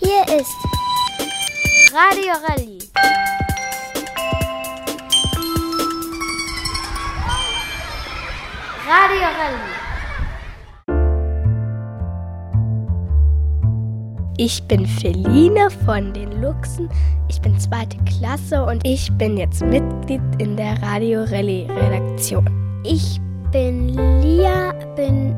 Hier ist Radio Rally. Radio Rally. Ich bin Feline von den Luchsen, ich bin 2. Klasse und ich bin jetzt Mitglied in der Radio Rally Redaktion. Ich bin Lia, bin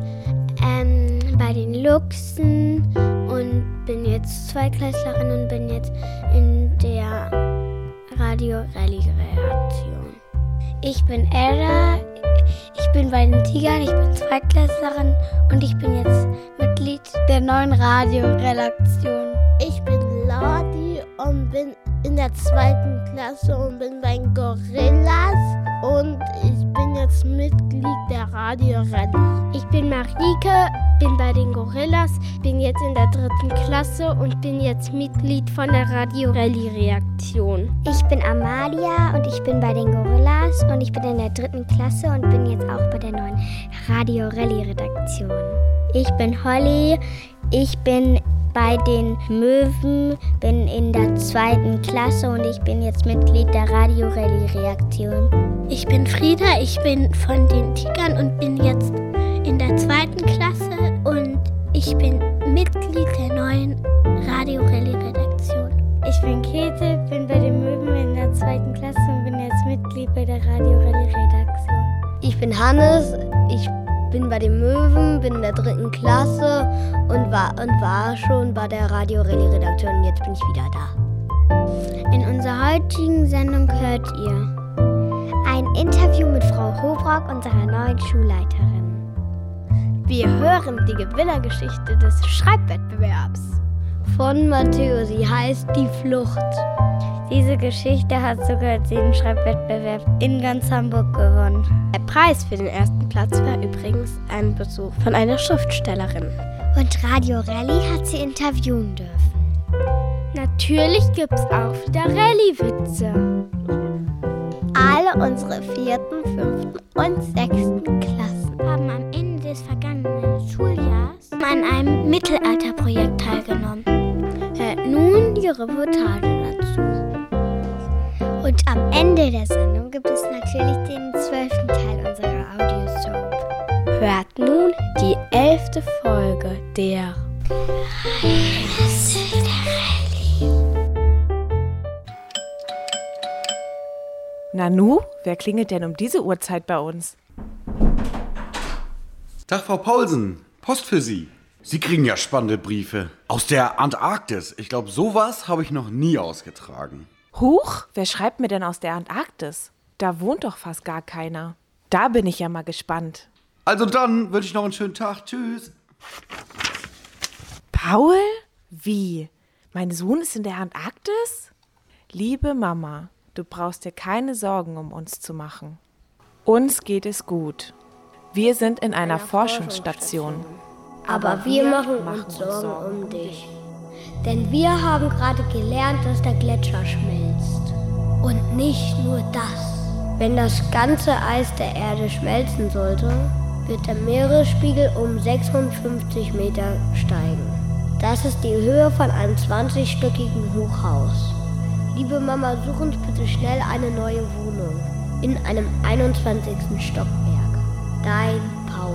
bei den Luchsen und bin jetzt Zweiklässlerin und bin jetzt in der Radio Rally Redaktion. Ich bin Era, ich bin bei den Tigern, ich bin Zweiklässlerin und ich bin jetzt Mitglied der neuen Radioredaktion. Ich bin Ladi und bin in der 2. Klasse und bin bei den Gorillas und ich bin jetzt Mitglied der Radio Rally. Ich bin Marike, bin bei den Gorillas, bin jetzt in der 3. Klasse und bin jetzt Mitglied von der Radio Rally Redaktion. Ich bin Amalia und ich bin bei den Gorillas und ich bin in der 3. Klasse und bin jetzt auch bei der neuen Radio Rally Redaktion. Ich bin Holly, ich bin bei den Möwen, bin in der 2. Klasse und ich bin jetzt Mitglied der Radio Rally Redaktion. Ich bin Frieda, ich bin von den Tigern und bin jetzt in der 2. Klasse und ich bin Mitglied der neuen Radio Rally Redaktion. Ich bin Käthe, bin bei den Möwen in der 2. Klasse und bin jetzt Mitglied bei der Radio Rally Redaktion. Ich bin Hannes, ich bin bei den Möwen, bin in der 3. Klasse und war schon bei der Radio Rally Redaktion und jetzt bin ich wieder da. In unserer heutigen Sendung hört ihr ein Interview mit Frau Hobrock, unserer neuen Schulleiterin. Wir hören die Gewinnergeschichte des Schreibwettbewerbs von Matteo. Sie heißt Die Flucht. Diese Geschichte hat sogar den Schreibwettbewerb in ganz Hamburg gewonnen. Der Preis für den 1. Platz war übrigens ein Besuch von einer Schriftstellerin. Und Radio Rally hat sie interviewen dürfen. Natürlich gibt's auch wieder Rallye-Witze. Alle unsere 4., 5. und 6. Klassen haben am Ende des vergangenen Schuljahres an einem Mittelalterprojekt teilgenommen. Nun die Reportage dazu. Und am Ende der Sendung gibt es natürlich den 12. Teil unserer Audiosoap. Hört nun die 11. Folge der Geheimnisse der Rallye. Nanu, wer klingelt denn um diese Uhrzeit bei uns? Tag, Frau Paulsen. Post für Sie. Sie kriegen ja spannende Briefe. Aus der Antarktis. Ich glaube, sowas habe ich noch nie ausgetragen. Huch, wer schreibt mir denn aus der Antarktis? Da wohnt doch fast gar keiner. Da bin ich ja mal gespannt. Also dann wünsche ich noch einen schönen Tag. Tschüss. Paul? Wie? Mein Sohn ist in der Antarktis? Liebe Mama, du brauchst dir keine Sorgen um uns zu machen. Uns geht es gut. Wir sind in einer Forschungsstation. Aber wir machen uns Sorgen um dich. Denn wir haben gerade gelernt, dass der Gletscher schmilzt. Und nicht nur das. Wenn das ganze Eis der Erde schmelzen sollte, wird der Meeresspiegel um 56 Meter steigen. Das ist die Höhe von einem 20-stöckigen Hochhaus. Liebe Mama, such uns bitte schnell eine neue Wohnung in einem 21. Stockwerk. Dein Paul.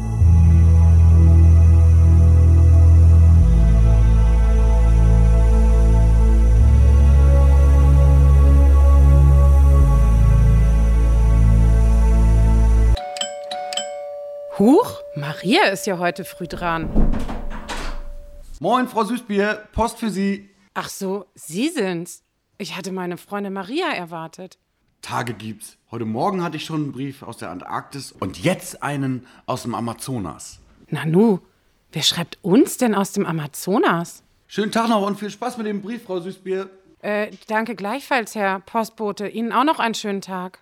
Huch, Maria ist ja heute früh dran. Moin, Frau Süßbier, Post für Sie. Ach so, Sie sind's. Ich hatte meine Freundin Maria erwartet. Tage gibt's. Heute Morgen hatte ich schon einen Brief aus der Antarktis und jetzt einen aus dem Amazonas. Nanu, wer schreibt uns denn aus dem Amazonas? Schönen Tag noch und viel Spaß mit dem Brief, Frau Süßbier. Danke gleichfalls, Herr Postbote. Ihnen auch noch einen schönen Tag.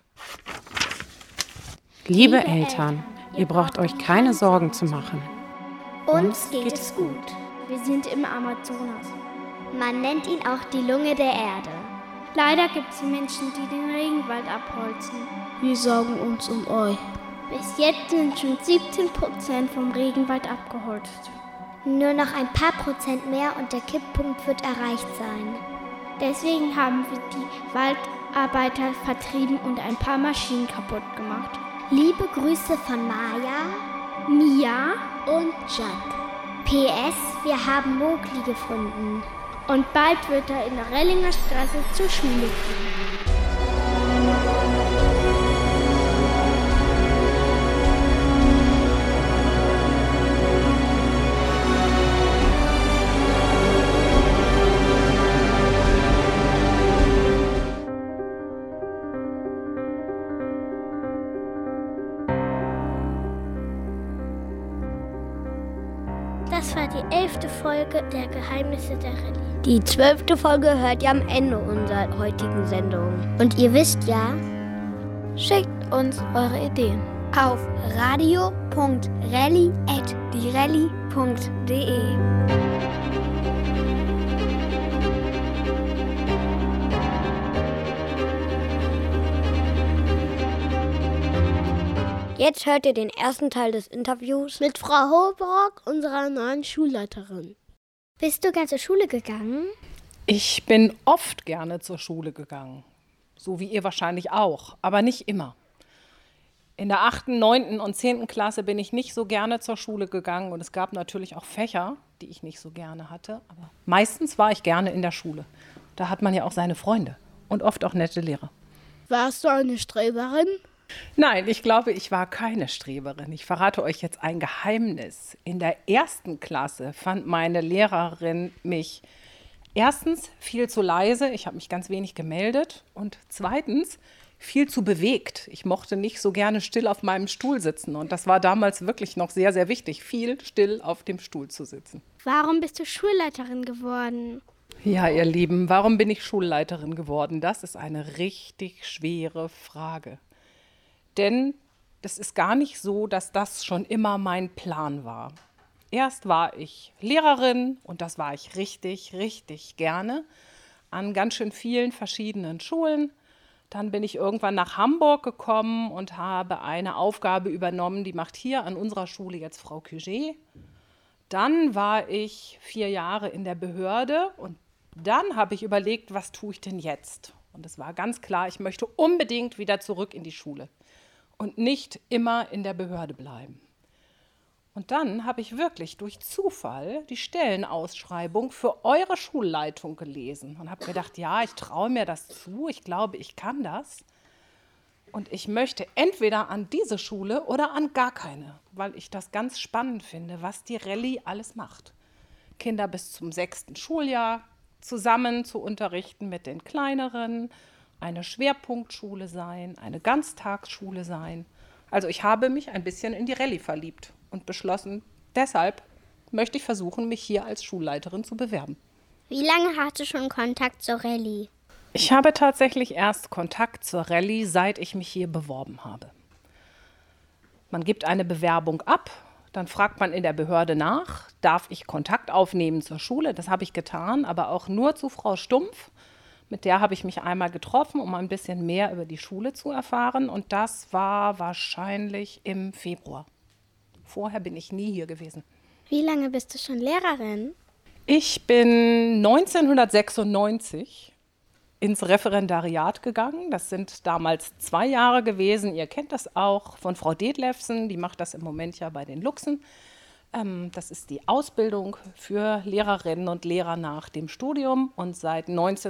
Liebe Eltern, ihr braucht euch keine Sorgen zu machen. Uns geht es gut. Wir sind im Amazonas. Man nennt ihn auch die Lunge der Erde. Leider gibt es Menschen, die den Regenwald abholzen. Wir sorgen uns um euch. Bis jetzt sind schon 17% vom Regenwald abgeholzt. Nur noch ein paar Prozent mehr und der Kipppunkt wird erreicht sein. Deswegen haben wir die Waldarbeiter vertrieben und ein paar Maschinen kaputt gemacht. Liebe Grüße von Maja, Mia und Jack. PS, wir haben Mowgli gefunden. Und bald wird er in der Rellinger Straße zur Schule gehen. Das war die 11. Folge der Geheimnisse der Rallye. Die 12. Folge hört ihr am Ende unserer heutigen Sendung. Und ihr wisst ja, schickt uns eure Ideen auf radio.rally@dirally.de. Jetzt hört ihr den ersten Teil des Interviews mit Frau Holbrock, unserer neuen Schulleiterin. Bist du gern zur Schule gegangen? Ich bin oft gerne zur Schule gegangen. So wie ihr wahrscheinlich auch, aber nicht immer. In der 8., 9. und 10. Klasse bin ich nicht so gerne zur Schule gegangen und es gab natürlich auch Fächer, die ich nicht so gerne hatte. Aber meistens war ich gerne in der Schule. Da hat man ja auch seine Freunde und oft auch nette Lehrer. Warst du eine Streberin? Nein, ich glaube, ich war keine Streberin. Ich verrate euch jetzt ein Geheimnis. In der 1. Klasse fand meine Lehrerin mich erstens viel zu leise. Ich habe mich ganz wenig gemeldet. Und zweitens viel zu bewegt. Ich mochte nicht so gerne still auf meinem Stuhl sitzen. Und das war damals wirklich noch sehr, sehr wichtig, viel still auf dem Stuhl zu sitzen. Warum bist du Schulleiterin geworden? Ja, ihr Lieben, warum bin ich Schulleiterin geworden? Das ist eine richtig schwere Frage. Denn das ist gar nicht so, dass das schon immer mein Plan war. Erst war ich Lehrerin und das war ich richtig, richtig gerne an ganz schön vielen verschiedenen Schulen. Dann bin ich irgendwann nach Hamburg gekommen und habe eine Aufgabe übernommen, die macht hier an unserer Schule jetzt Frau Cuget. Dann war ich 4 Jahre in der Behörde und dann habe ich überlegt, was tue ich denn jetzt? Und es war ganz klar, ich möchte unbedingt wieder zurück in die Schule und nicht immer in der Behörde bleiben. Und dann habe ich wirklich durch Zufall die Stellenausschreibung für eure Schulleitung gelesen und habe gedacht, ja, ich traue mir das zu, ich glaube, ich kann das. Und ich möchte entweder an diese Schule oder an gar keine, weil ich das ganz spannend finde, was die Rallye alles macht. Kinder bis zum 6. Schuljahr zusammen zu unterrichten mit den Kleineren, eine Schwerpunktschule sein, eine Ganztagsschule sein. Also ich habe mich ein bisschen in die Rallye verliebt und beschlossen, deshalb möchte ich versuchen, mich hier als Schulleiterin zu bewerben. Wie lange hast du schon Kontakt zur Rallye? Ich habe tatsächlich erst Kontakt zur Rallye, seit ich mich hier beworben habe. Man gibt eine Bewerbung ab, dann fragt man in der Behörde nach, darf ich Kontakt aufnehmen zur Schule? Das habe ich getan, aber auch nur zu Frau Stumpf. Mit der habe ich mich einmal getroffen, um ein bisschen mehr über die Schule zu erfahren. Und das war wahrscheinlich im Februar. Vorher bin ich nie hier gewesen. Wie lange bist du schon Lehrerin? Ich bin 1996 ins Referendariat gegangen. Das sind damals 2 Jahre gewesen. Ihr kennt das auch von Frau Detlefsen. Die macht das im Moment ja bei den Luchsen. Das ist die Ausbildung für Lehrerinnen und Lehrer nach dem Studium. Und seit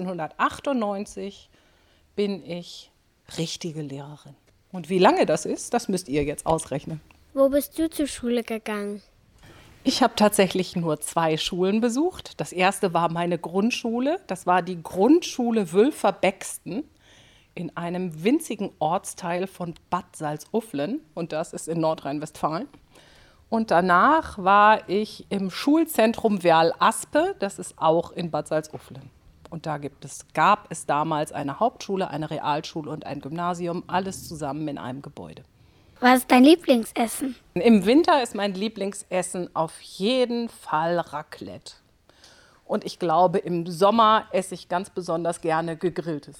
1998 bin ich richtige Lehrerin. Und wie lange das ist, das müsst ihr jetzt ausrechnen. Wo bist du zur Schule gegangen? Ich habe tatsächlich nur 2 Schulen besucht. Das erste war meine Grundschule. Das war die Grundschule Wülfer-Bexten in einem winzigen Ortsteil von Bad Salzuflen. Und das ist in Nordrhein-Westfalen. Und danach war ich im Schulzentrum Werl-Aspe, das ist auch in Bad Salzuflen. Und da gab es damals eine Hauptschule, eine Realschule und ein Gymnasium, alles zusammen in einem Gebäude. Was ist dein Lieblingsessen? Im Winter ist mein Lieblingsessen auf jeden Fall Raclette. Und ich glaube, im Sommer esse ich ganz besonders gerne Gegrilltes.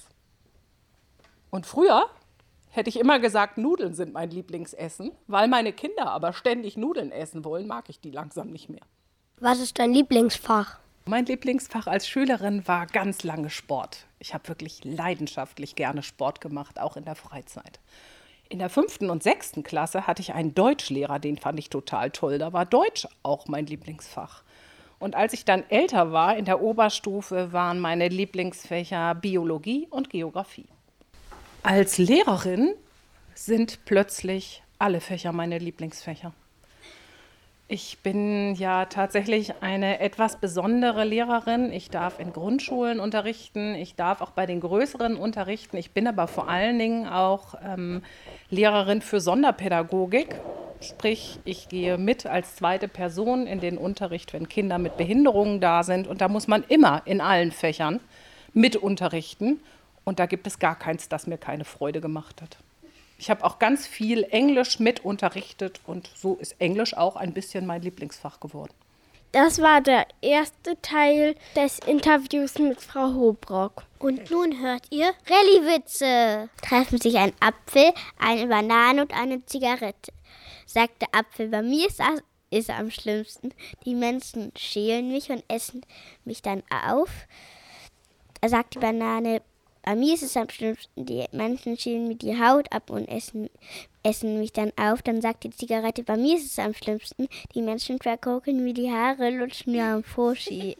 Und früher hätte ich immer gesagt, Nudeln sind mein Lieblingsessen. Weil meine Kinder aber ständig Nudeln essen wollen, mag ich die langsam nicht mehr. Was ist dein Lieblingsfach? Mein Lieblingsfach als Schülerin war ganz lange Sport. Ich habe wirklich leidenschaftlich gerne Sport gemacht, auch in der Freizeit. In der 5. und 6. Klasse hatte ich einen Deutschlehrer, den fand ich total toll. Da war Deutsch auch mein Lieblingsfach. Und als ich dann älter war, in der Oberstufe, waren meine Lieblingsfächer Biologie und Geografie. Als Lehrerin sind plötzlich alle Fächer meine Lieblingsfächer. Ich bin ja tatsächlich eine etwas besondere Lehrerin. Ich darf in Grundschulen unterrichten, ich darf auch bei den größeren unterrichten. Ich bin aber vor allen Dingen auch Lehrerin für Sonderpädagogik. Sprich, ich gehe mit als zweite Person in den Unterricht, wenn Kinder mit Behinderungen da sind. Und da muss man immer in allen Fächern mit unterrichten. Und da gibt es gar keins, das mir keine Freude gemacht hat. Ich habe auch ganz viel Englisch mit unterrichtet und so ist Englisch auch ein bisschen mein Lieblingsfach geworden. Das war der erste Teil des Interviews mit Frau Hobrock. Und nun hört ihr Rallye-Witze. Treffen sich ein Apfel, eine Banane und eine Zigarette. Sagt der Apfel, bei mir ist es am schlimmsten. Die Menschen schälen mich und essen mich dann auf. Da sagt die Banane, bei mir ist es am schlimmsten, die Menschen schälen mir die Haut ab und essen mich dann auf. Dann sagt die Zigarette, bei mir ist es am schlimmsten, die Menschen verkokeln mir die Haare, lutschen mir am Foschi.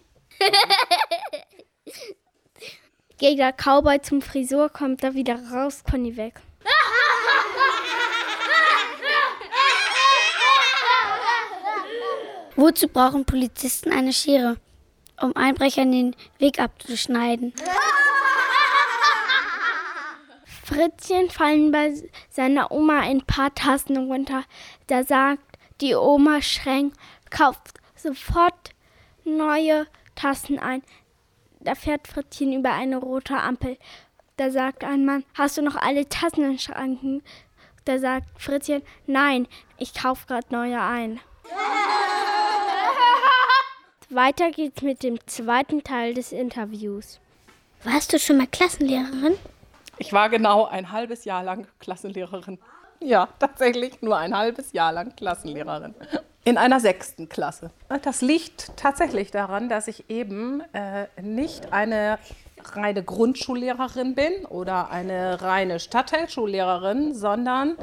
Geht der Cowboy zum Frisur, kommt er wieder raus, Conny weg. Wozu brauchen Polizisten eine Schere? Um Einbrechern den Weg abzuschneiden. Fritzchen fallen bei seiner Oma ein paar Tassen runter. Da sagt die Oma streng, kauft sofort neue Tassen ein. Da fährt Fritzchen über eine rote Ampel. Da sagt ein Mann, hast du noch alle Tassen im Schrank? Da sagt Fritzchen, nein, ich kaufe gerade neue ein. Weiter geht's mit dem zweiten Teil des Interviews. Warst du schon mal Klassenlehrerin? Ich war genau ein halbes Jahr lang Klassenlehrerin. Ja, tatsächlich nur ein halbes Jahr lang Klassenlehrerin. In einer 6. Klasse. Das liegt tatsächlich daran, dass ich eben nicht eine reine Grundschullehrerin bin oder eine reine Stadtteilschullehrerin, sondern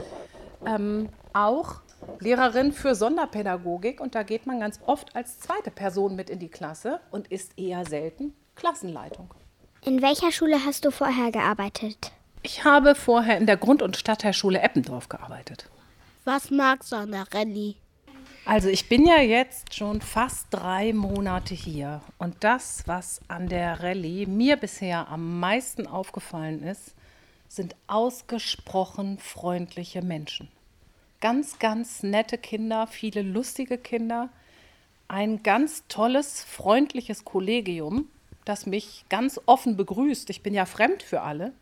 auch Lehrerin für Sonderpädagogik. Und da geht man ganz oft als zweite Person mit in die Klasse und ist eher selten Klassenleitung. In welcher Schule hast du vorher gearbeitet? Ich habe vorher in der Grund- und Stadtteilschule Eppendorf gearbeitet. Was magst du an der Rallye? Also ich bin ja jetzt schon fast 3 Monate hier. Und das, was an der Rallye mir bisher am meisten aufgefallen ist, sind ausgesprochen freundliche Menschen. Ganz, ganz nette Kinder, viele lustige Kinder. Ein ganz tolles, freundliches Kollegium, das mich ganz offen begrüßt. Ich bin ja fremd für alle.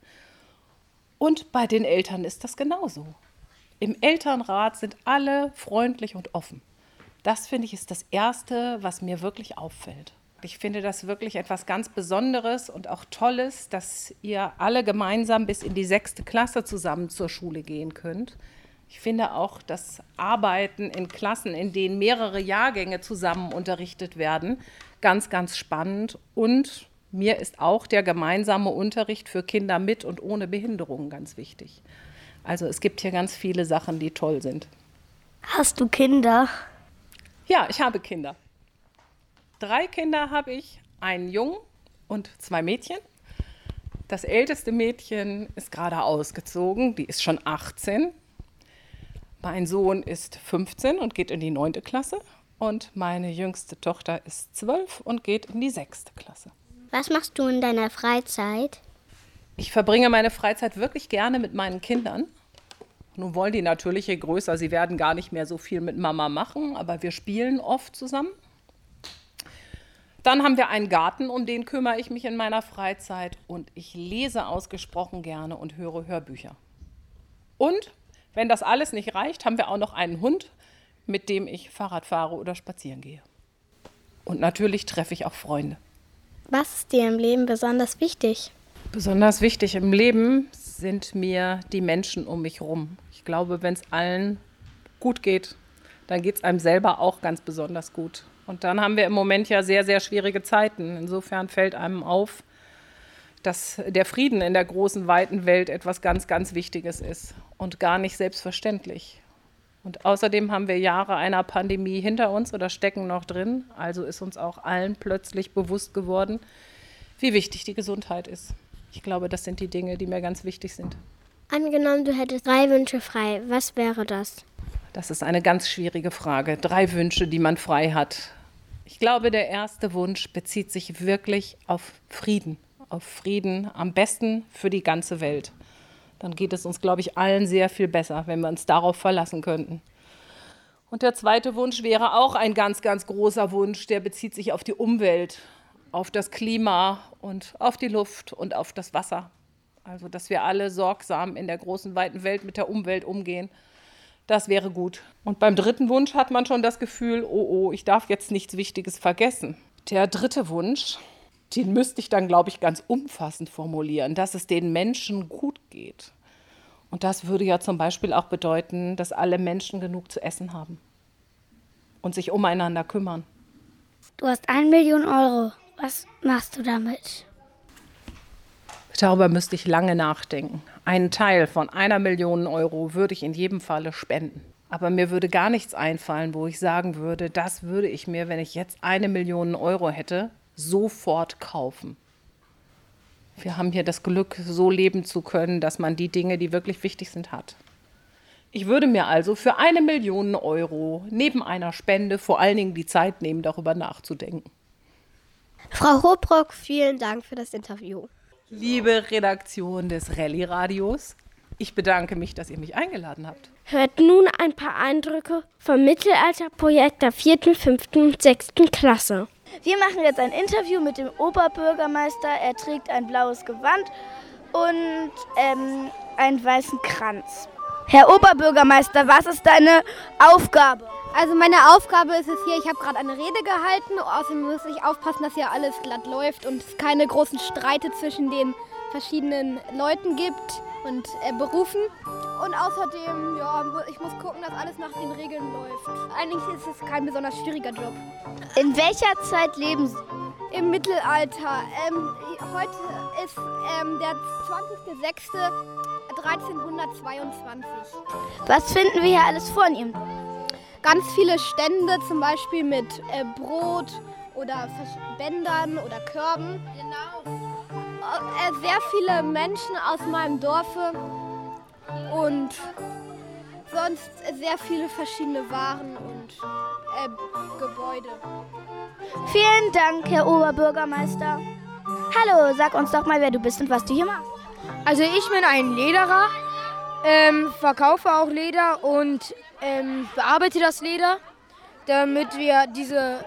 Und bei den Eltern ist das genauso. Im Elternrat sind alle freundlich und offen. Das, finde ich, ist das Erste, was mir wirklich auffällt. Ich finde das wirklich etwas ganz Besonderes und auch Tolles, dass ihr alle gemeinsam bis in die 6. Klasse zusammen zur Schule gehen könnt. Ich finde auch das Arbeiten in Klassen, in denen mehrere Jahrgänge zusammen unterrichtet werden, ganz, ganz spannend. Und mir ist auch der gemeinsame Unterricht für Kinder mit und ohne Behinderungen ganz wichtig. Also es gibt hier ganz viele Sachen, die toll sind. Hast du Kinder? Ja, ich habe Kinder. 3 Kinder habe ich, einen Jungen und 2 Mädchen. Das älteste Mädchen ist gerade ausgezogen, die ist schon 18. Mein Sohn ist 15 und geht in die 9. Klasse. Und meine jüngste Tochter ist 12 und geht in die 6. Klasse. Was machst du in deiner Freizeit? Ich verbringe meine Freizeit wirklich gerne mit meinen Kindern. Nun wollen die natürlich, je größer sie werden, gar nicht mehr so viel mit Mama machen, aber wir spielen oft zusammen. Dann haben wir einen Garten, um den kümmere ich mich in meiner Freizeit. Und ich lese ausgesprochen gerne und höre Hörbücher. Und wenn das alles nicht reicht, haben wir auch noch einen Hund, mit dem ich Fahrrad fahre oder spazieren gehe. Und natürlich treffe ich auch Freunde. Was ist dir im Leben besonders wichtig? Besonders wichtig im Leben sind mir die Menschen um mich herum. Ich glaube, wenn es allen gut geht, dann geht es einem selber auch ganz besonders gut. Und dann haben wir im Moment ja sehr, sehr schwierige Zeiten. Insofern fällt einem auf, dass der Frieden in der großen, weiten Welt etwas ganz, ganz Wichtiges ist und gar nicht selbstverständlich. Und außerdem haben wir Jahre einer Pandemie hinter uns oder stecken noch drin. Also ist uns auch allen plötzlich bewusst geworden, wie wichtig die Gesundheit ist. Ich glaube, das sind die Dinge, die mir ganz wichtig sind. Angenommen, du hättest 3 Wünsche frei. Was wäre das? Das ist eine ganz schwierige Frage. 3 Wünsche, die man frei hat. Ich glaube, der erste Wunsch bezieht sich wirklich auf Frieden. Auf Frieden, am besten für die ganze Welt. Dann geht es uns, glaube ich, allen sehr viel besser, wenn wir uns darauf verlassen könnten. Und der zweite Wunsch wäre auch ein ganz, ganz großer Wunsch. Der bezieht sich auf die Umwelt, auf das Klima und auf die Luft und auf das Wasser. Also, dass wir alle sorgsam in der großen, weiten Welt mit der Umwelt umgehen. Das wäre gut. Und beim dritten Wunsch hat man schon das Gefühl, oh, ich darf jetzt nichts Wichtiges vergessen. Der dritte Wunsch, den müsste ich dann, glaube ich, ganz umfassend formulieren, dass es den Menschen gut geht. Und das würde ja zum Beispiel auch bedeuten, dass alle Menschen genug zu essen haben und sich umeinander kümmern. Du hast 1 Million Euro. Was machst du damit? Darüber müsste ich lange nachdenken. Einen Teil von 1 Million Euro würde ich in jedem Falle spenden. Aber mir würde gar nichts einfallen, wo ich sagen würde, das würde ich mir, wenn ich jetzt 1 Million Euro hätte, sofort kaufen. Wir haben hier das Glück, so leben zu können, dass man die Dinge, die wirklich wichtig sind, hat. Ich würde mir also für 1 Million Euro neben einer Spende vor allen Dingen die Zeit nehmen, darüber nachzudenken. Frau Hobrock, vielen Dank für das Interview. Liebe Redaktion des Rallye-Radios, ich bedanke mich, dass ihr mich eingeladen habt. Hört nun ein paar Eindrücke vom Mittelalterprojekt der 4., 5. und 6. Klasse. Wir machen jetzt ein Interview mit dem Oberbürgermeister. Er trägt ein blaues Gewand und einen weißen Kranz. Herr Oberbürgermeister, was ist deine Aufgabe? Also meine Aufgabe ist es hier, ich habe gerade eine Rede gehalten. Außerdem muss ich aufpassen, dass hier alles glatt läuft und es keine großen Streite zwischen den verschiedenen Leuten gibt und Berufen. Und außerdem, ich muss gucken, dass alles nach den Regeln läuft. Eigentlich ist es kein besonders schwieriger Job. In welcher Zeit leben Sie? Im Mittelalter. Heute ist der 20.06.1322. Was finden wir hier alles vor in Ihrem Dorf? Ganz viele Stände, zum Beispiel mit Brot oder Bändern oder Körben. Genau. Sehr viele Menschen aus meinem Dorfe und sonst sehr viele verschiedene Waren und Gebäude. Vielen Dank, Herr Oberbürgermeister. Hallo, sag uns doch mal, wer du bist und was du hier machst. Also ich bin ein Lederer, verkaufe auch Leder und bearbeite das Leder, damit wir diese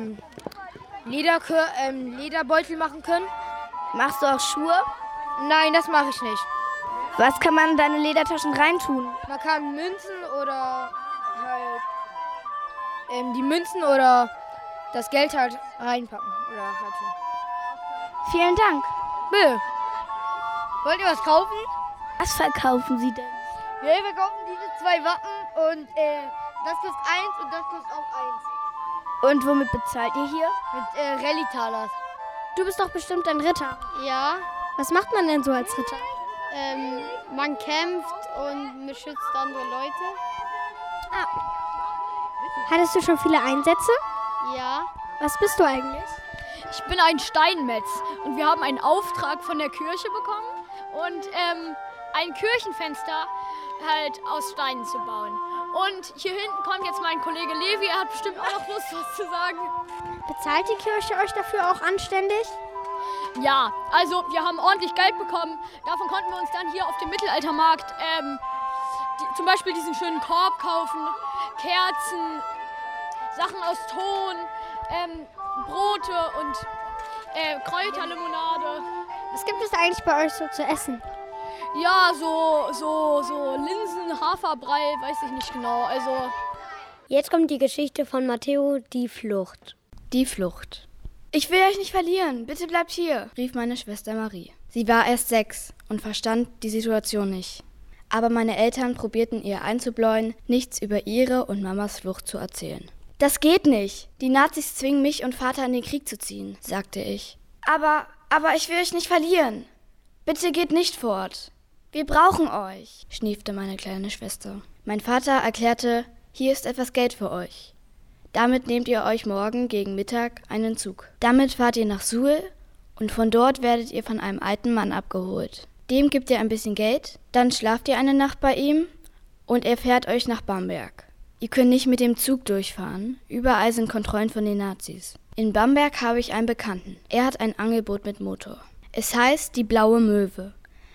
Lederbeutel machen können. Machst du auch Schuhe? Nein, das mache ich nicht. Was kann man in deine Ledertaschen reintun? Man kann Münzen oder halt die Münzen oder das Geld halt reinpacken. Oder halt so. Vielen Dank. Bitte. Wollt ihr was kaufen? Was verkaufen Sie denn? Ja, wir kaufen diese 2 Wappen und das kostet 1 und das kostet auch 1. Und womit bezahlt ihr hier? Mit Rallye-Talers. Du bist doch bestimmt ein Ritter. Ja. Was macht man denn so als Ritter? Man kämpft und beschützt andere Leute. Ah. Hattest du schon viele Einsätze? Ja. Was bist du eigentlich? Ich bin ein Steinmetz und wir haben einen Auftrag von der Kirche bekommen und ein Kirchenfenster halt aus Steinen zu bauen. Und hier hinten kommt jetzt mein Kollege Levi, er hat bestimmt auch noch Lust, was zu sagen. Bezahlt die Kirche euch dafür auch anständig? Ja, also wir haben ordentlich Geld bekommen. Davon konnten wir uns dann hier auf dem Mittelaltermarkt zum Beispiel diesen schönen Korb kaufen, Kerzen, Sachen aus Ton, Brote und Kräuterlimonade. Was gibt es eigentlich bei euch so zu essen? Ja, so Linsen, Haferbrei, weiß ich nicht genau. Also jetzt kommt die Geschichte von Matteo, die Flucht. Die Flucht. Ich will euch nicht verlieren, bitte bleibt hier, rief meine Schwester Marie. Sie war erst 6 und verstand die Situation nicht. Aber meine Eltern probierten ihr einzubläuen, nichts über ihre und Mamas Flucht zu erzählen. Das geht nicht. Die Nazis zwingen mich und Vater in den Krieg zu ziehen, sagte ich. Aber ich will euch nicht verlieren. Bitte geht nicht fort. Wir brauchen euch, schniefte meine kleine Schwester. Mein Vater erklärte, hier ist etwas Geld für euch. Damit nehmt ihr euch morgen gegen Mittag einen Zug. Damit fahrt ihr nach Suhl und von dort werdet ihr von einem alten Mann abgeholt. Dem gebt ihr ein bisschen Geld, dann schlaft ihr eine Nacht bei ihm und er fährt euch nach Bamberg. Ihr könnt nicht mit dem Zug durchfahren, überall sind Kontrollen von den Nazis. In Bamberg habe ich einen Bekannten, er hat ein Angelboot mit Motor. Es heißt die Blaue Möwe.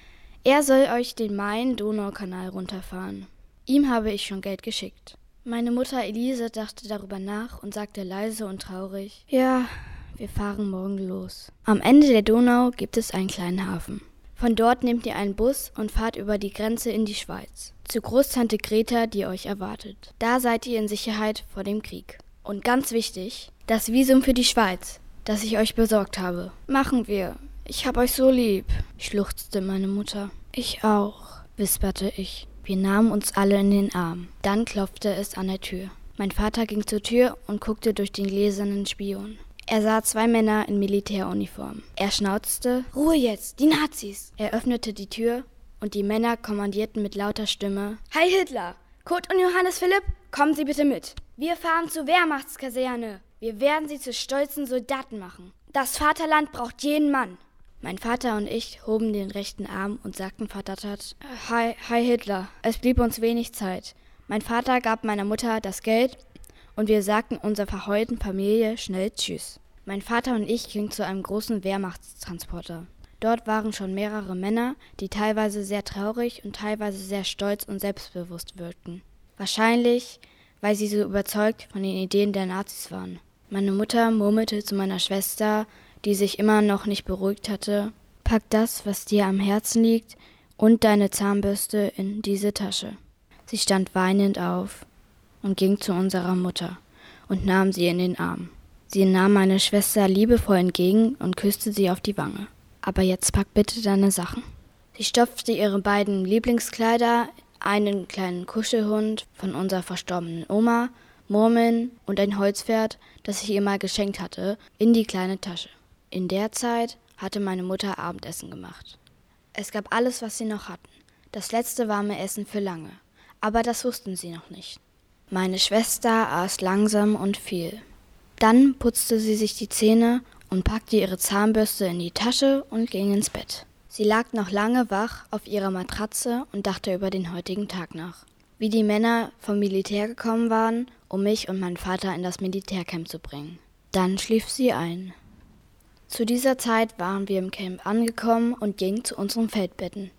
Er soll euch den Main-Donau-Kanal runterfahren. Ihm habe ich schon Geld geschickt. Meine Mutter Elise dachte darüber nach und sagte leise und traurig, ja, wir fahren morgen los. Am Ende der Donau gibt es einen kleinen Hafen. Von dort nehmt ihr einen Bus und fahrt über die Grenze in die Schweiz. Zu Großtante Greta, die euch erwartet. Da seid ihr in Sicherheit vor dem Krieg. Und ganz wichtig, das Visum für die Schweiz, das ich euch besorgt habe. Machen wir. Ich hab euch so lieb, schluchzte meine Mutter. Ich auch, wisperte ich. Wir nahmen uns alle in den Arm. Dann klopfte es an der Tür. Mein Vater ging zur Tür und guckte durch den gläsernen Spion. Er sah 2 Männer in Militäruniform. Er schnauzte, Ruhe jetzt, die Nazis! Er öffnete die Tür und die Männer kommandierten mit lauter Stimme, Heil Hitler! Kurt und Johannes Philipp, kommen Sie bitte mit. Wir fahren zur Wehrmachtskaserne. Wir werden Sie zu stolzen Soldaten machen. Das Vaterland braucht jeden Mann. Mein Vater und ich hoben den rechten Arm und sagten verdattert, Hi Hitler, es blieb uns wenig Zeit. Mein Vater gab meiner Mutter das Geld und wir sagten unserer verheulten Familie schnell Tschüss. Mein Vater und ich gingen zu einem großen Wehrmachtstransporter. Dort waren schon mehrere Männer, die teilweise sehr traurig und teilweise sehr stolz und selbstbewusst wirkten. Wahrscheinlich, weil sie so überzeugt von den Ideen der Nazis waren. Meine Mutter murmelte zu meiner Schwester, die sich immer noch nicht beruhigt hatte, pack das, was dir am Herzen liegt, und deine Zahnbürste in diese Tasche. Sie stand weinend auf und ging zu unserer Mutter und nahm sie in den Arm. Sie nahm meine Schwester liebevoll entgegen und küsste sie auf die Wange. Aber jetzt pack bitte deine Sachen. Sie stopfte ihre beiden Lieblingskleider, einen kleinen Kuschelhund von unserer verstorbenen Oma, Murmeln und ein Holzpferd, das ich ihr mal geschenkt hatte, in die kleine Tasche. In der Zeit hatte meine Mutter Abendessen gemacht. Es gab alles, was sie noch hatten. Das letzte warme Essen für lange. Aber das wussten sie noch nicht. Meine Schwester aß langsam und viel. Dann putzte sie sich die Zähne und packte ihre Zahnbürste in die Tasche und ging ins Bett. Sie lag noch lange wach auf ihrer Matratze und dachte über den heutigen Tag nach. Wie die Männer vom Militär gekommen waren, um mich und meinen Vater in das Militärcamp zu bringen. Dann schlief sie ein. Zu dieser Zeit waren wir im Camp angekommen und gingen zu unseren Feldbetten.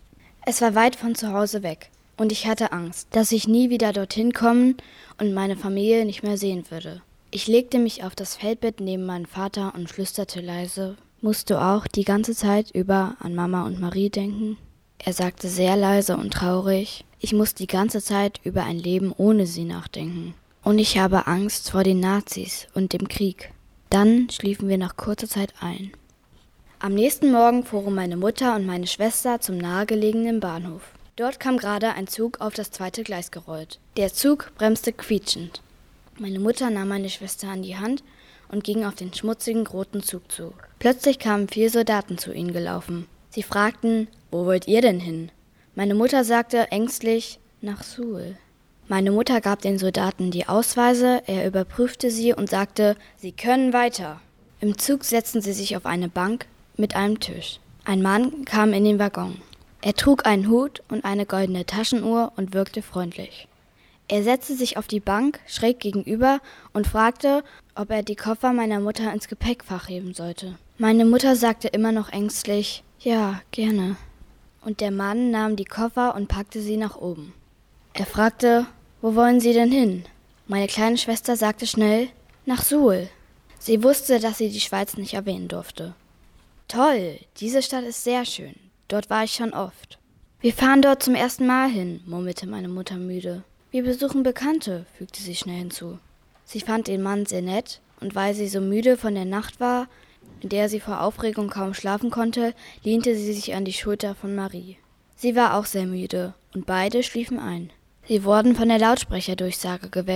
Es war weit von zu Hause weg und ich hatte Angst, dass ich nie wieder dorthin kommen und meine Familie nicht mehr sehen würde. Ich legte mich auf das Feldbett neben meinen Vater und flüsterte leise, musst du auch die ganze Zeit über an Mama und Marie denken? Er sagte sehr leise und traurig, ich muss die ganze Zeit über ein Leben ohne sie nachdenken. Und ich habe Angst vor den Nazis und dem Krieg. Dann schliefen wir nach kurzer Zeit ein. Am nächsten Morgen fuhren meine Mutter und meine Schwester zum nahegelegenen Bahnhof. Dort kam gerade ein Zug auf das 2. Gleis gerollt. Der Zug bremste quietschend. Meine Mutter nahm meine Schwester an die Hand und ging auf den schmutzigen roten Zug zu. Plötzlich kamen 4 Soldaten zu ihnen gelaufen. Sie fragten, wo wollt ihr denn hin? Meine Mutter sagte ängstlich, nach Suhl. Meine Mutter gab den Soldaten die Ausweise, er überprüfte sie und sagte, sie können weiter. Im Zug setzten sie sich auf eine Bank mit einem Tisch. Ein Mann kam in den Waggon. Er trug einen Hut und eine goldene Taschenuhr und wirkte freundlich. Er setzte sich auf die Bank schräg gegenüber und fragte, ob er die Koffer meiner Mutter ins Gepäckfach heben sollte. Meine Mutter sagte immer noch ängstlich, ja, gerne. Und der Mann nahm die Koffer und packte sie nach oben. Er fragte, wo wollen Sie denn hin? Meine kleine Schwester sagte schnell, nach Suhl. Sie wusste, dass sie die Schweiz nicht erwähnen durfte. Toll, diese Stadt ist sehr schön. Dort war ich schon oft. Wir fahren dort zum ersten Mal hin, murmelte meine Mutter müde. Wir besuchen Bekannte, fügte sie schnell hinzu. Sie fand den Mann sehr nett und weil sie so müde von der Nacht war, in der sie vor Aufregung kaum schlafen konnte, lehnte sie sich an die Schulter von Marie. Sie war auch sehr müde und beide schliefen ein. Sie wurden von der Lautsprecherdurchsage geweckt.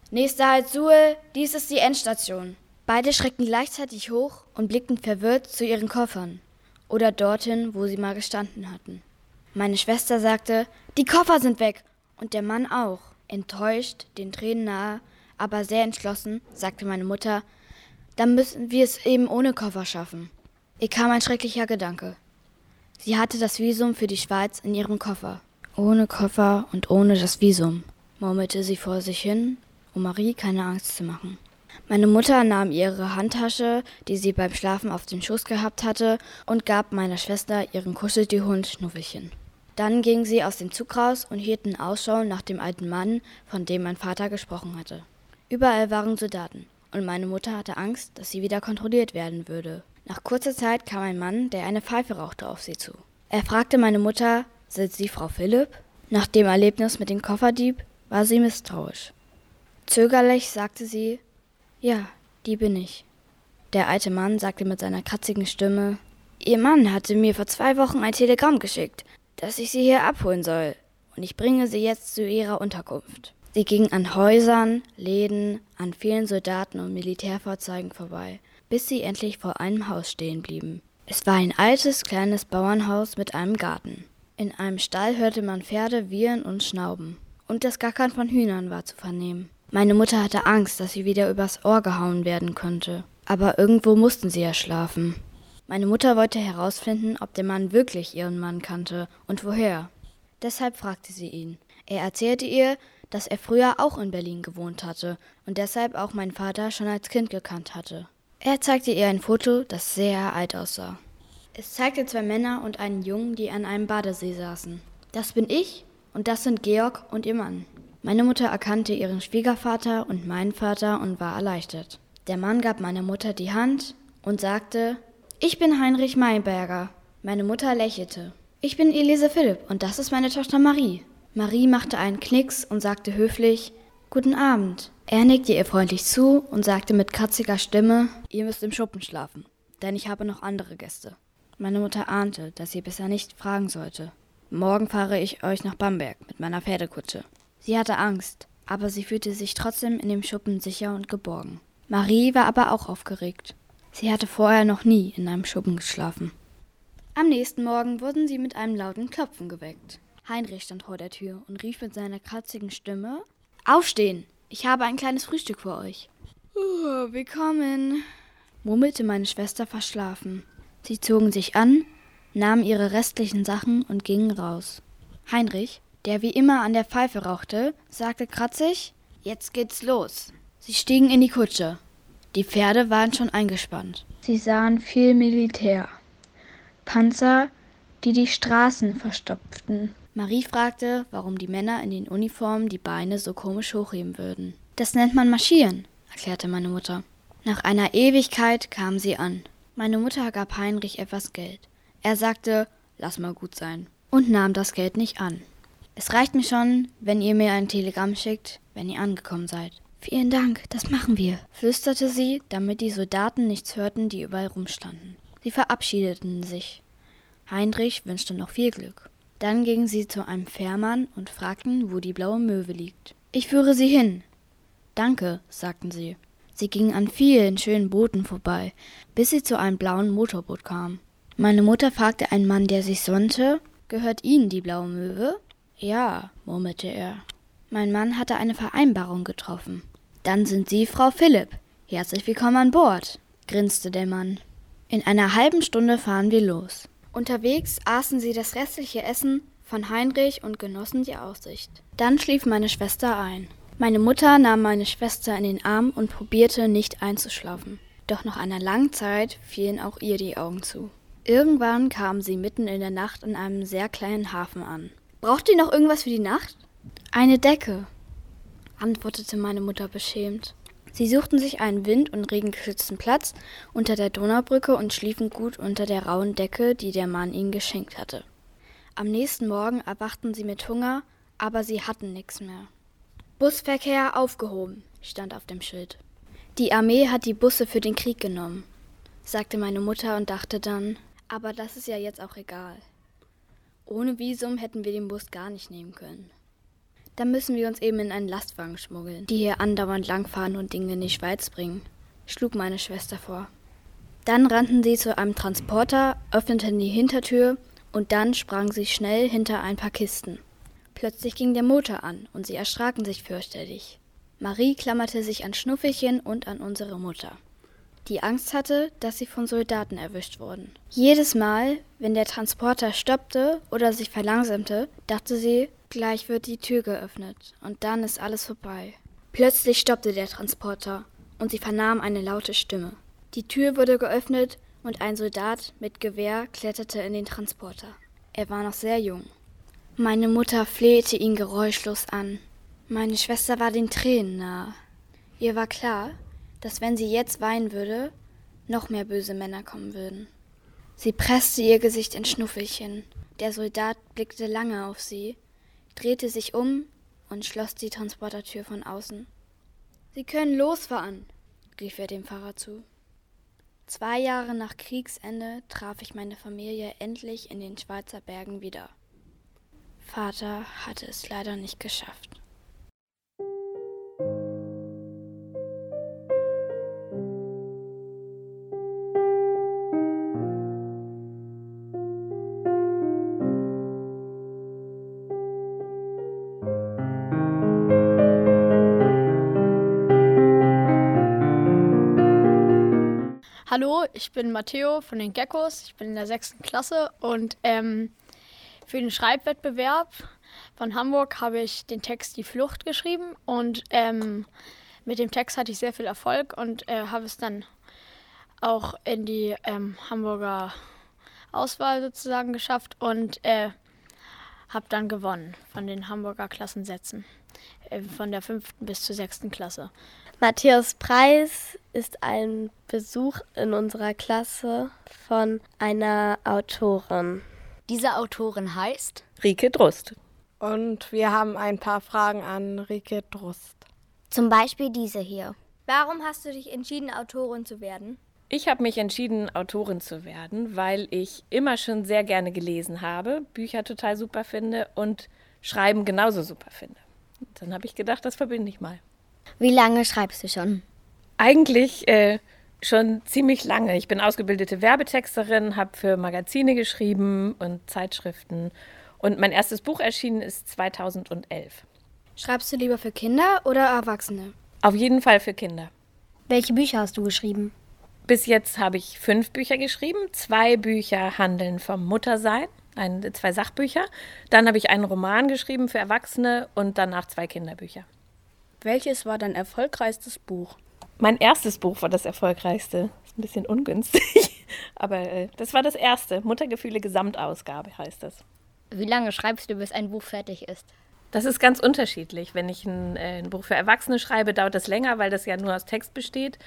Nächster Halt Suhl, dies ist die Endstation. Beide schreckten gleichzeitig hoch und blickten verwirrt zu ihren Koffern oder dorthin, wo sie mal gestanden hatten. Meine Schwester sagte, die Koffer sind weg und der Mann auch. Enttäuscht, den Tränen nahe, aber sehr entschlossen, sagte meine Mutter, dann müssen wir es eben ohne Koffer schaffen. Ihr kam ein schrecklicher Gedanke. Sie hatte das Visum für die Schweiz in ihrem Koffer. Ohne Koffer und ohne das Visum, murmelte sie vor sich hin, um Marie keine Angst zu machen. Meine Mutter nahm ihre Handtasche, die sie beim Schlafen auf dem Schoß gehabt hatte, und gab meiner Schwester ihren Kuscheltier-Hund Schnuffelchen. Dann gingen sie aus dem Zug raus und hielten Ausschau nach dem alten Mann, von dem mein Vater gesprochen hatte. Überall waren Soldaten, und meine Mutter hatte Angst, dass sie wieder kontrolliert werden würde. Nach kurzer Zeit kam ein Mann, der eine Pfeife rauchte, auf sie zu. Er fragte meine Mutter, sind Sie Frau Philipp? Nach dem Erlebnis mit dem Kofferdieb war sie misstrauisch. Zögerlich sagte sie, ja, die bin ich. Der alte Mann sagte mit seiner kratzigen Stimme, Ihr Mann hatte mir vor 2 Wochen ein Telegramm geschickt, dass ich Sie hier abholen soll, und ich bringe Sie jetzt zu Ihrer Unterkunft. Sie ging an Häusern, Läden, an vielen Soldaten und Militärfahrzeugen vorbei, bis sie endlich vor einem Haus stehen blieben. Es war ein altes, kleines Bauernhaus mit einem Garten. In einem Stall hörte man Pferde wiehern und schnauben, und das Gackern von Hühnern war zu vernehmen. Meine Mutter hatte Angst, dass sie wieder übers Ohr gehauen werden könnte, aber irgendwo mussten sie ja schlafen. Meine Mutter wollte herausfinden, ob der Mann wirklich ihren Mann kannte und woher. Deshalb fragte sie ihn. Er erzählte ihr, dass er früher auch in Berlin gewohnt hatte und deshalb auch meinen Vater schon als Kind gekannt hatte. Er zeigte ihr ein Foto, das sehr alt aussah. Es zeigte 2 Männer und einen Jungen, die an einem Badesee saßen. Das bin ich und das sind Georg und ihr Mann. Meine Mutter erkannte ihren Schwiegervater und meinen Vater und war erleichtert. Der Mann gab meiner Mutter die Hand und sagte, ich bin Heinrich Mayberger. Meine Mutter lächelte. Ich bin Elise Philipp und das ist meine Tochter Marie. Marie machte einen Knicks und sagte höflich, guten Abend. Er nickte ihr freundlich zu und sagte mit kratziger Stimme, ihr müsst im Schuppen schlafen, denn ich habe noch andere Gäste. Meine Mutter ahnte, dass sie besser nicht fragen sollte. Morgen fahre ich euch nach Bamberg mit meiner Pferdekutsche. Sie hatte Angst, aber sie fühlte sich trotzdem in dem Schuppen sicher und geborgen. Marie war aber auch aufgeregt. Sie hatte vorher noch nie in einem Schuppen geschlafen. Am nächsten Morgen wurden sie mit einem lauten Klopfen geweckt. Heinrich stand vor der Tür und rief mit seiner kratzigen Stimme, aufstehen, ich habe ein kleines Frühstück für euch. Willkommen, murmelte meine Schwester verschlafen. Sie zogen sich an, nahmen ihre restlichen Sachen und gingen raus. Heinrich, der wie immer an der Pfeife rauchte, sagte kratzig, jetzt geht's los. Sie stiegen in die Kutsche. Die Pferde waren schon eingespannt. Sie sahen viel Militär. Panzer, die die Straßen verstopften. Marie fragte, warum die Männer in den Uniformen die Beine so komisch hochheben würden. Das nennt man Marschieren, erklärte meine Mutter. Nach einer Ewigkeit kamen sie an. Meine Mutter gab Heinrich etwas Geld. Er sagte, lass mal gut sein, und nahm das Geld nicht an. Es reicht mir schon, wenn ihr mir ein Telegramm schickt, wenn ihr angekommen seid. Vielen Dank, das machen wir, flüsterte sie, damit die Soldaten nichts hörten, die überall rumstanden. Sie verabschiedeten sich. Heinrich wünschte noch viel Glück. Dann gingen sie zu einem Fährmann und fragten, wo die blaue Möwe liegt. Ich führe sie hin. Danke, sagten sie. Sie gingen an vielen schönen Booten vorbei, bis sie zu einem blauen Motorboot kamen. Meine Mutter fragte einen Mann, der sich sonnte, gehört Ihnen die blaue Möwe? Ja, murmelte er. Mein Mann hatte eine Vereinbarung getroffen. Dann sind Sie Frau Philipp. Herzlich willkommen an Bord, grinste der Mann. In einer halben Stunde fahren wir los. Unterwegs aßen sie das restliche Essen von Heinrich und genossen die Aussicht. Dann schlief meine Schwester ein. Meine Mutter nahm meine Schwester in den Arm und probierte nicht einzuschlafen. Doch nach einer langen Zeit fielen auch ihr die Augen zu. Irgendwann kamen sie mitten in der Nacht an einem sehr kleinen Hafen an. Braucht ihr noch irgendwas für die Nacht? Eine Decke, antwortete meine Mutter beschämt. Sie suchten sich einen wind- und regengeschützten Platz unter der Donaubrücke und schliefen gut unter der rauen Decke, die der Mann ihnen geschenkt hatte. Am nächsten Morgen erwachten sie mit Hunger, aber sie hatten nichts mehr. Busverkehr aufgehoben, stand auf dem Schild. Die Armee hat die Busse für den Krieg genommen, sagte meine Mutter und dachte dann, aber das ist ja jetzt auch egal. Ohne Visum hätten wir den Bus gar nicht nehmen können. Dann müssen wir uns eben in einen Lastwagen schmuggeln, die hier andauernd langfahren und Dinge in die Schweiz bringen, schlug meine Schwester vor. Dann rannten sie zu einem Transporter, öffneten die Hintertür und dann sprangen sie schnell hinter ein paar Kisten. Plötzlich ging der Motor an und sie erschraken sich fürchterlich. Marie klammerte sich an Schnuffelchen und an unsere Mutter, die Angst hatte, dass sie von Soldaten erwischt wurden. Jedes Mal, wenn der Transporter stoppte oder sich verlangsamte, dachte sie, gleich wird die Tür geöffnet und dann ist alles vorbei. Plötzlich stoppte der Transporter und sie vernahm eine laute Stimme. Die Tür wurde geöffnet und ein Soldat mit Gewehr kletterte in den Transporter. Er war noch sehr jung. Meine Mutter flehte ihn geräuschlos an. Meine Schwester war den Tränen nahe. Ihr war klar, dass wenn sie jetzt weinen würde, noch mehr böse Männer kommen würden. Sie presste ihr Gesicht in Schnuffelchen. Der Soldat blickte lange auf sie, drehte sich um und schloss die Transportertür von außen. »Sie können losfahren«, rief er dem Fahrer zu. 2 Jahre nach Kriegsende traf ich meine Familie endlich in den Schweizer Bergen wieder. Vater hatte es leider nicht geschafft. Hallo, ich bin Matteo von den Geckos. Ich bin in der 6. Klasse und für den Schreibwettbewerb von Hamburg habe ich den Text Die Flucht geschrieben und mit dem Text hatte ich sehr viel Erfolg und habe es dann auch in die Hamburger Auswahl sozusagen geschafft und habe dann gewonnen von den Hamburger Klassensätzen von der 5. bis zur 6. Klasse. Matthäus Preis ist ein Besuch in unserer Klasse von einer Autorin. Diese Autorin heißt Rike Drust. Und wir haben ein paar Fragen an Rike Drust. Zum Beispiel diese hier. Warum hast du dich entschieden, Autorin zu werden? Ich habe mich entschieden, Autorin zu werden, weil ich immer schon sehr gerne gelesen habe, Bücher total super finde und Schreiben genauso super finde. Und dann habe ich gedacht, das verbinde ich mal. Wie lange schreibst du schon? Eigentlich schon ziemlich lange. Ich bin ausgebildete Werbetexterin, habe für Magazine geschrieben und Zeitschriften. Und mein erstes Buch erschienen ist 2011. Schreibst du lieber für Kinder oder Erwachsene? Auf jeden Fall für Kinder. Welche Bücher hast du geschrieben? Bis jetzt habe ich 5 Bücher geschrieben. 2 Bücher handeln vom Muttersein, 2 Sachbücher. Dann habe ich einen Roman geschrieben für Erwachsene und danach 2 Kinderbücher. Welches war dein erfolgreichstes Buch? Mein erstes Buch war das erfolgreichste. Ist ein bisschen ungünstig, aber das war das erste. Muttergefühle Gesamtausgabe heißt das. Wie lange schreibst du, bis ein Buch fertig ist? Das ist ganz unterschiedlich. Wenn ich ein Buch für Erwachsene schreibe, dauert das länger, weil das ja nur aus Text besteht.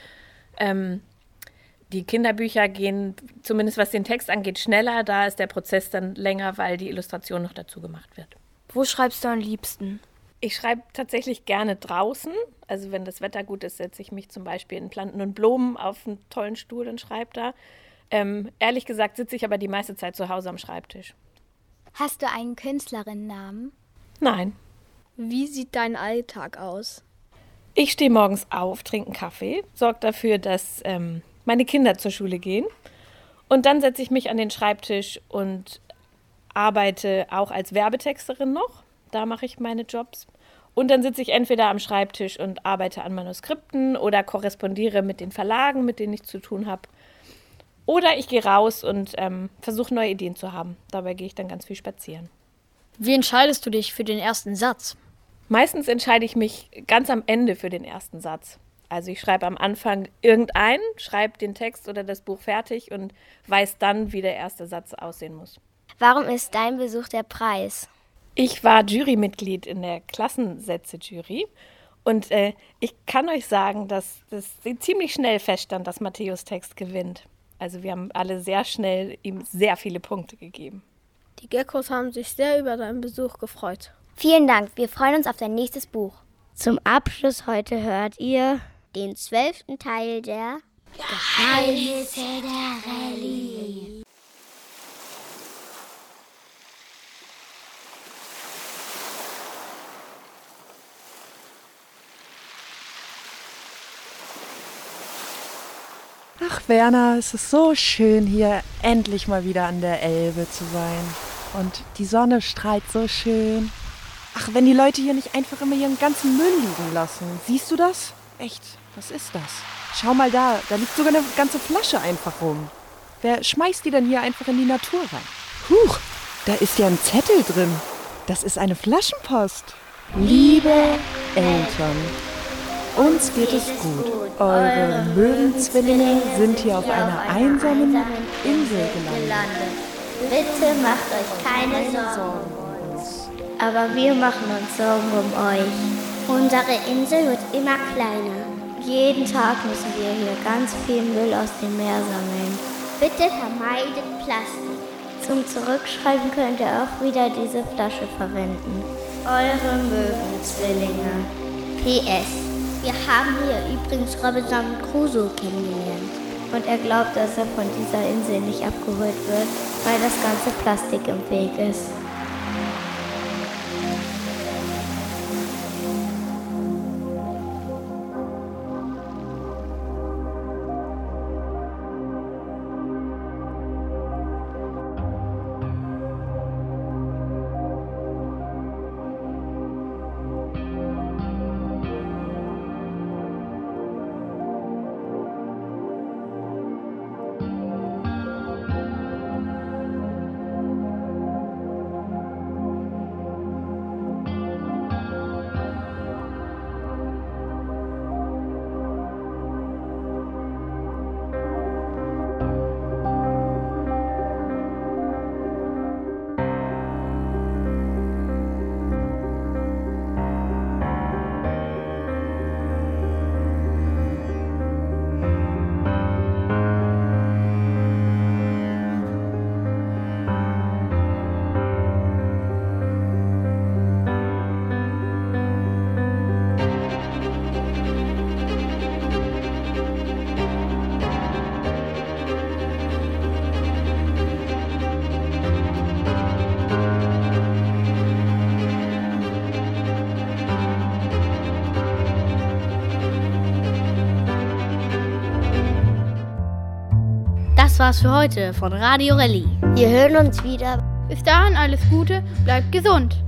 Die Kinderbücher gehen, zumindest was den Text angeht, schneller. Da ist der Prozess dann länger, weil die Illustration noch dazu gemacht wird. Wo schreibst du am liebsten? Ich schreibe tatsächlich gerne draußen. Also wenn das Wetter gut ist, setze ich mich zum Beispiel in Planten und Blumen auf einen tollen Stuhl und schreibe da. Ehrlich gesagt sitze ich aber die meiste Zeit zu Hause am Schreibtisch. Hast du einen Künstlerinnennamen? Nein. Wie sieht dein Alltag aus? Ich stehe morgens auf, trinke einen Kaffee, sorge dafür, dass meine Kinder zur Schule gehen. Und dann setze ich mich an den Schreibtisch und arbeite auch als Werbetexterin noch. Da mache ich meine Jobs. Und dann sitze ich entweder am Schreibtisch und arbeite an Manuskripten oder korrespondiere mit den Verlagen, mit denen ich zu tun habe. Oder ich gehe raus und versuche neue Ideen zu haben. Dabei gehe ich dann ganz viel spazieren. Wie entscheidest du dich für den ersten Satz? Meistens entscheide ich mich ganz am Ende für den ersten Satz. Also ich schreibe am Anfang irgendeinen, schreibe den Text oder das Buch fertig und weiß dann, wie der erste Satz aussehen muss. Warum ist dein Besuch der Preis? Ich war Jurymitglied in der Klassensätze-Jury und ich kann euch sagen, dass das ziemlich schnell feststand, dass Matthäus Text gewinnt. Also wir haben alle sehr schnell ihm sehr viele Punkte gegeben. Die Geckos haben sich sehr über deinen Besuch gefreut. Vielen Dank, wir freuen uns auf dein nächstes Buch. Zum Abschluss heute hört ihr den 12. Teil der Geheimnisse der Rallye. Ach, Werner, es ist so schön, hier endlich mal wieder an der Elbe zu sein. Und die Sonne strahlt so schön. Ach, wenn die Leute hier nicht einfach immer ihren ganzen Müll liegen lassen. Siehst du das? Echt, was ist das? Schau mal da liegt sogar eine ganze Flasche einfach rum. Wer schmeißt die denn hier einfach in die Natur rein? Huch, da ist ja ein Zettel drin. Das ist eine Flaschenpost. Liebe Eltern, uns geht es gut. Eure Möwenzwillinge sind hier auf einer einsamen Insel gelandet. Bitte macht euch keine Sorgen um uns. Aber wir machen uns Sorgen um euch. Unsere Insel wird immer kleiner. Jeden Tag müssen wir hier ganz viel Müll aus dem Meer sammeln. Bitte vermeidet Plastik. Zum Zurückschreiben könnt ihr auch wieder diese Flasche verwenden. Eure Möwenzwillinge. PS. Wir haben hier übrigens Robinson Crusoe kennengelernt. Und er glaubt, dass er von dieser Insel nicht abgeholt wird, weil das ganze Plastik im Weg ist. Das war's für heute von Radio Rally. Wir hören uns wieder. Bis dahin alles Gute, bleibt gesund.